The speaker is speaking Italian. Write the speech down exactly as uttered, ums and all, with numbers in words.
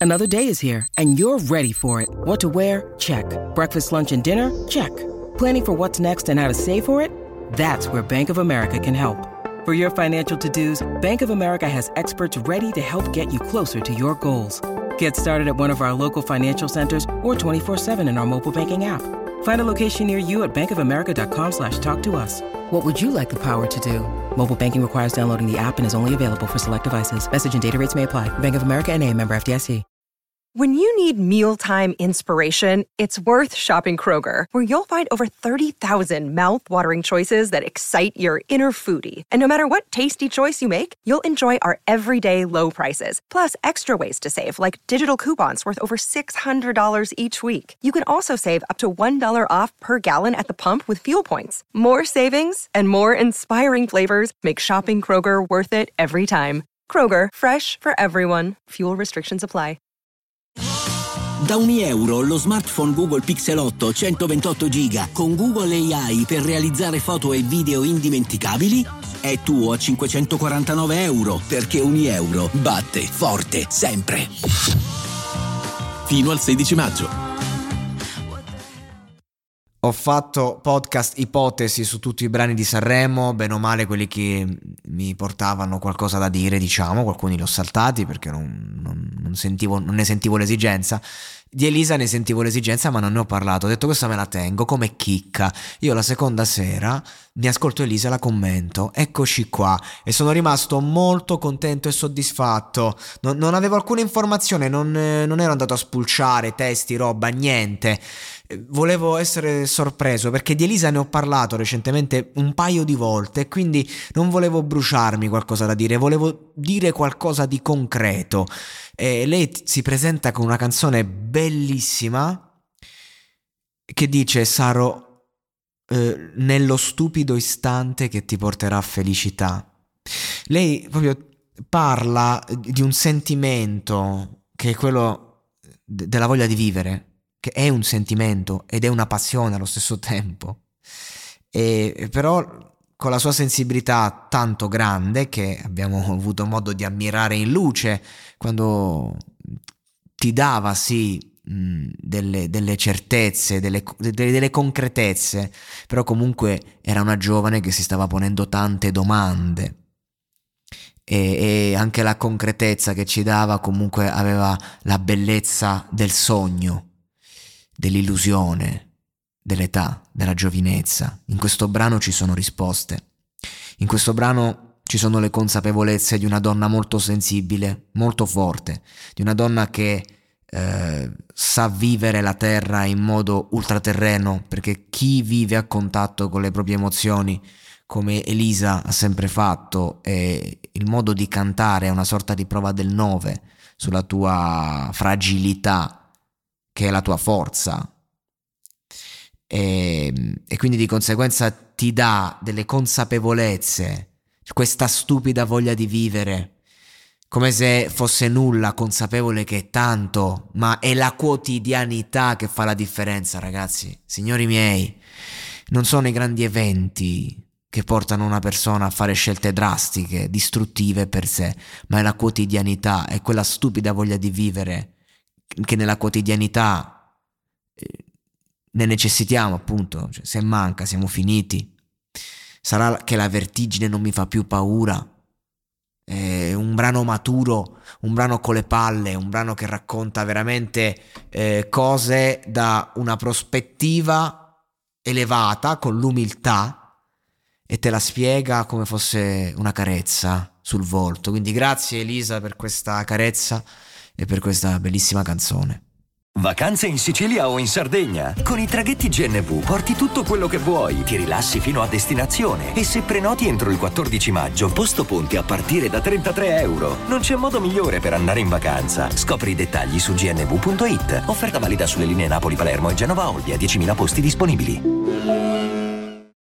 Another day is here, and you're ready for it. What to wear? Check. Breakfast, lunch, and dinner? Check. Planning for what's next and how to save for it? That's where Bank of America can help. For your financial to-dos, Bank of America has experts ready to help get you closer to your goals. Get started at one of our local financial centers or twenty-four seven in our mobile banking app. Find a location near you at bankofamerica.com slash talk to us. What would you like the power to do? Mobile banking requires downloading the app and is only available for select devices. Message and data rates may apply. Bank of America N A, member F D I C. When you need mealtime inspiration, it's worth shopping Kroger, where you'll find over thirty thousand mouth-watering choices that excite your inner foodie. And no matter what tasty choice you make, you'll enjoy our everyday low prices, plus extra ways to save, like digital coupons worth over six hundred dollars each week. You can also save up to one dollar off per gallon at the pump with fuel points. More savings and more inspiring flavors make shopping Kroger worth it every time. Kroger, fresh for everyone. Fuel restrictions apply. Da un euro lo smartphone Google Pixel otto centoventotto giga con Google A I per realizzare foto e video indimenticabili è tuo a cinquecentoquarantanove euro, perché un euro batte forte sempre. Fino al sedici maggio. Ho fatto podcast ipotesi su tutti i brani di Sanremo, bene o male quelli che mi portavano qualcosa da dire, diciamo, alcuni li ho saltati perché non, non, non, sentivo, non ne sentivo l'esigenza. Di Elisa ne sentivo l'esigenza, ma non ne ho parlato. Ho detto questa me la tengo come chicca. Io la seconda sera mi ascolto Elisa e la commento. Eccoci qua. E sono rimasto molto contento e soddisfatto. Non, non avevo alcuna informazione, non, non ero andato a spulciare testi, roba, niente. Volevo essere sorpreso perché di Elisa ne ho parlato recentemente un paio di volte, quindi non volevo bruciarmi qualcosa da dire, volevo dire qualcosa di concreto. E lei si presenta con una canzone bellissima che dice: sarò eh, nello stupido istante che ti porterà felicità. Lei proprio parla di un sentimento che è quello de- della voglia di vivere, che è un sentimento ed è una passione allo stesso tempo, e però con la sua sensibilità tanto grande che abbiamo avuto modo di ammirare in luce quando ti dava sì mh, delle, delle certezze, delle, delle, delle concretezze, però comunque era una giovane che si stava ponendo tante domande. E, e anche la concretezza che ci dava comunque aveva la bellezza del sogno, dell'illusione, dell'età, della giovinezza. In questo brano ci sono risposte. In questo brano ci sono le consapevolezze di una donna molto sensibile, molto forte, di una donna che eh, sa vivere la terra in modo ultraterreno, perché chi vive a contatto con le proprie emozioni, come Elisa ha sempre fatto, e il modo di cantare è una sorta di prova del nove sulla tua fragilità, che è la tua forza, e, e quindi di conseguenza ti dà delle consapevolezze, questa stupida voglia di vivere, come se fosse nulla, consapevole che è tanto, ma è la quotidianità che fa la differenza, ragazzi. Signori miei, non sono i grandi eventi che portano una persona a fare scelte drastiche, distruttive per sé, ma è la quotidianità, è quella stupida voglia di vivere che nella quotidianità eh, ne necessitiamo, appunto. Cioè, se manca siamo finiti. Sarà che la vertigine non mi fa più paura. È un brano maturo, un brano con le palle, un brano che racconta veramente eh, cose da una prospettiva elevata, con l'umiltà, e te la spiega come fosse una carezza sul volto. Quindi grazie Elisa per questa carezza e per questa bellissima canzone. Vacanze in Sicilia o in Sardegna? Con i traghetti G N V porti tutto quello che vuoi, ti rilassi fino a destinazione e se prenoti entro il quattordici maggio, posto ponti a partire da trentatré euro. Non c'è modo migliore per andare in vacanza. Scopri i dettagli su g n v punto i t. Offerta valida sulle linee Napoli-Palermo e Genova-Olbia, diecimila posti disponibili.